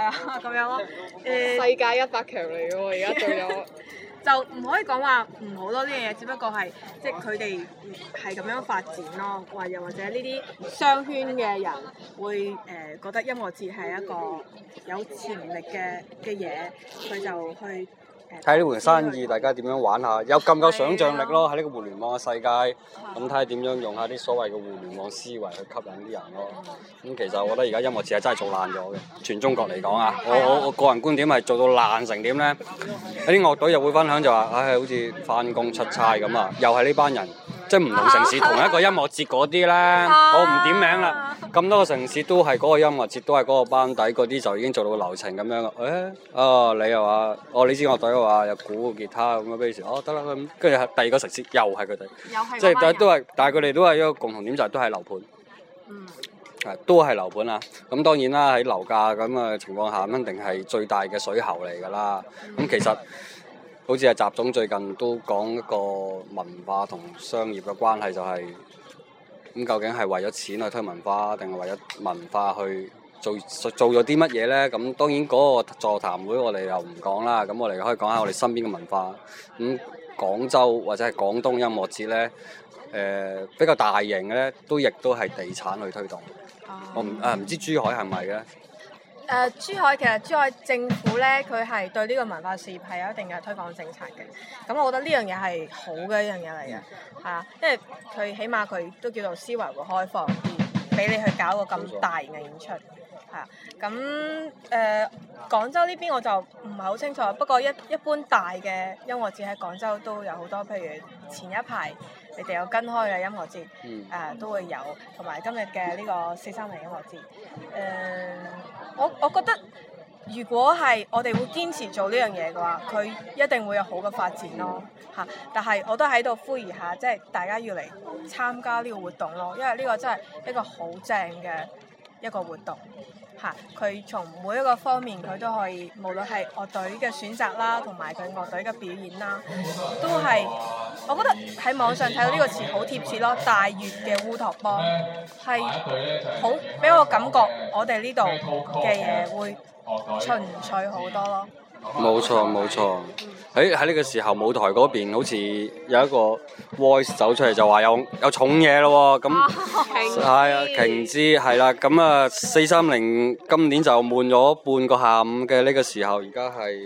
啊咁樣咯。 世界100強嚟嘅喎，而家做咗。 就唔可以講話唔好咯，呢樣嘢只不過係即係佢哋係咁樣發展咯，或者呢啲商圈嘅人會覺得音樂節係一個有潛力嘅嘢，佢就去睇呢盤生意，大家點樣玩下，有咁夠想像力咯。喺呢個互聯網嘅世界，咁睇下點樣用下啲所謂嘅互聯網思維去吸引啲人咯。咁其實我覺得而家音樂節係真係做爛咗嘅，全中國嚟講啊，我個人觀點係做到爛成點咧？有啲樂隊又會分享就話，唉，好似翻工出差咁啊，又係呢班人。即係唔同城市同一個音樂節嗰啲咧，我唔點名啦。咁多個城市都係嗰個音樂節，都係嗰個班底，嗰啲就已經做到流程咁樣。你又話，你支樂隊嘅話有鼓吉他咁嘅 base， 得啦咁。跟住第二個城市又係佢哋，即係都係，但係佢哋都係一個共同點就係都係樓盤，都係樓盤啊。咁當然啦，喺樓價咁嘅情況下，肯定係最大嘅水喉嚟㗎啦。咁其實。好似係習總最近都講一個文化同商業嘅關係，就係咁究竟係為咗錢去推文化，定係為咗文化去做咗啲乜嘢呢？咁當然嗰個座談會我哋又唔講啦，咁我哋可以講下我哋身邊嘅文化。咁廣州或者係廣東音樂節呢，比較大型嘅呢，亦都係地產去推動。我唔知珠海係咪嘅？ 珠海政府咧，佢係對呢個文化事業係有一定嘅推廣政策嘅。咁我覺得呢樣嘢係好嘅一樣嘢嚟嘅，係啊，因為佢起碼佢都叫做思維會開放啲，俾你去搞個咁大型嘅演出，係啊。咁廣州呢邊我就唔係好清楚，不過一般大嘅音樂節喺廣州都有好多，譬如前一排你哋有跟開嘅音樂節，都會有，同埋今日嘅呢個430音樂節，我覺得如果係我哋會堅持做呢樣嘢嘅話，佢一定會有好嘅發展咯嚇。但係我都喺度呼籲下，即係大家要嚟參加呢個活動咯，因為呢個真係一個好正嘅一個活動嚇。佢從每一個方面佢都可以，無論係樂隊嘅選擇啦，同埋佢樂隊嘅表演啦，都係我覺得喺網上睇到呢個詞好貼切咯。大粵嘅烏托邦係好俾我感覺，我哋呢度嘅嘢會純粹好多咯。 冇錯。喺呢個時候，舞台嗰邊好似有一個 voice 走出嚟，就話有重嘢咯喎。咁係啊，瓊枝係啦。咁啊，430今年就悶咗半個下午嘅呢個時候，而家係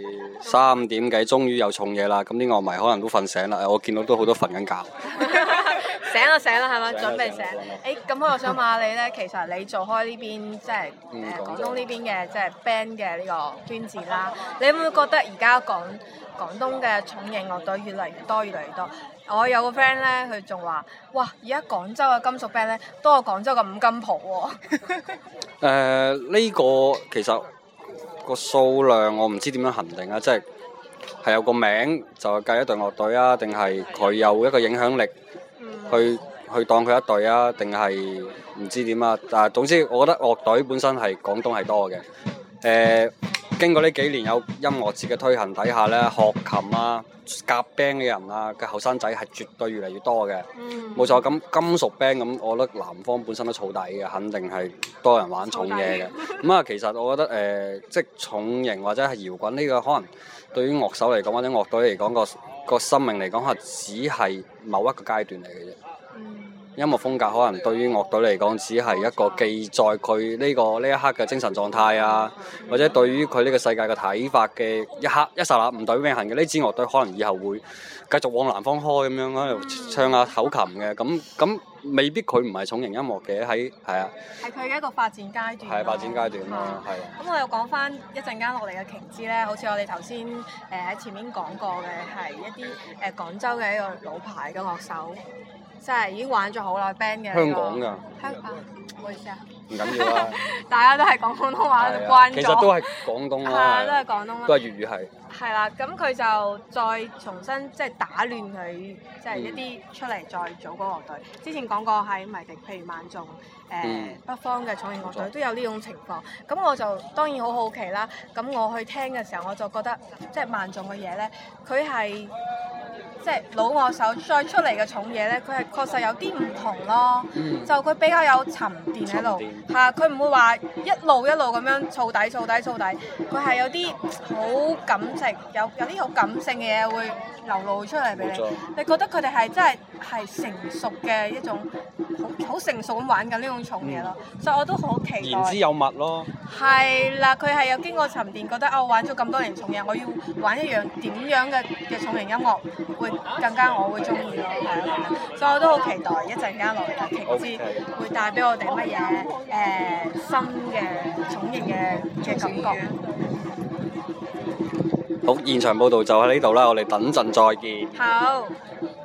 3點幾，終於有重嘢啦。咁啲樂迷可能都瞓醒啦。我見到都好多瞓緊覺。 醒啦係咪？準備醒。咁我想問下你咧，其實你做開呢邊即係廣東呢邊嘅即係 band 嘅呢個圈子啦，你會唔會覺得而家廣東嘅重型樂隊越嚟越多？我有個 friend 咧，佢仲話：哇！而家廣州嘅金屬 band 咧，多過廣州嘅五金鋪喎。 呢個其實個數量我唔知點樣衡定啊，即係有個名就計一隊樂隊啊，定係佢有一個影響力去當佢一隊啊，定係唔知點啊？但係總之，我覺得樂隊本身係廣東係多嘅。經過呢幾年有音樂節嘅推行底下咧，學琴啊、夾 band 嘅人啊嘅後生仔係絕對越嚟越多嘅。冇錯，咁金屬 band 咁，我覺得南方本身都燥底嘅，肯定係多人玩重嘢嘅。咁啊，其實我覺得即係重型或者係搖滾呢個，可能對於樂手嚟講或者樂隊嚟講個生命嚟講，可能只係某一個階段嚟嘅啫。音樂風格可能對於樂隊嚟講，只係一個記載佢呢一刻嘅精神狀態啊，或者對於佢呢個世界嘅睇法嘅一刻一剎那唔對永恆嘅呢支樂隊，可能以後會繼續往南方開咁樣喺度唱下口琴嘅，咁未必佢唔係重型音樂嘅，係啊， 係佢嘅一個發展階段。 係發展階段咯，係。 咁我又講翻一陣間落嚟嘅瓊枝咧，好似我哋頭先喺前面講過嘅，係一啲廣州嘅一個老牌嘅樂手。即係已經玩咗好耐 band 嘅香港㗎， 唔好意思啊， 唔緊要啦， 大家都係講廣東話就關咗， 其實都係廣東啦， 都係廣東啦， 都係粵語係。 係啦，咁佢就再重新即係打亂佢，即係一啲出嚟再組嗰個樂隊。之前講過喺迷笛，譬如萬眾北方嘅重型樂隊都有呢種情況。咁我就當然好好奇啦。咁我去聽嘅時候，我就覺得即係萬眾嘅嘢咧，佢係即係老樂手再出嚟嘅重嘢咧，佢係確實有啲唔同咯。 嗯就佢比較有沉澱喺度，係啊，佢唔會話一路咁樣燥底，佢係有啲好感情，有啲好感性嘅嘢會流露出嚟俾你。 冇錯你覺得佢哋係真係成熟嘅一種好成熟咁玩緊呢種重嘢咯，所以我都好期待。 言之有物咯。 係啦，佢係有經過沉澱，覺得我玩咗咁多年重嘢，我要玩一樣點樣嘅重型音樂會更加我會中意咯，係啊，所以我都好期待一陣間落嚟嘅瓊枝會帶俾我哋乜嘢新嘅重型嘅感覺。 好，現場報道就喺呢度啦，我哋等陣再見。 好。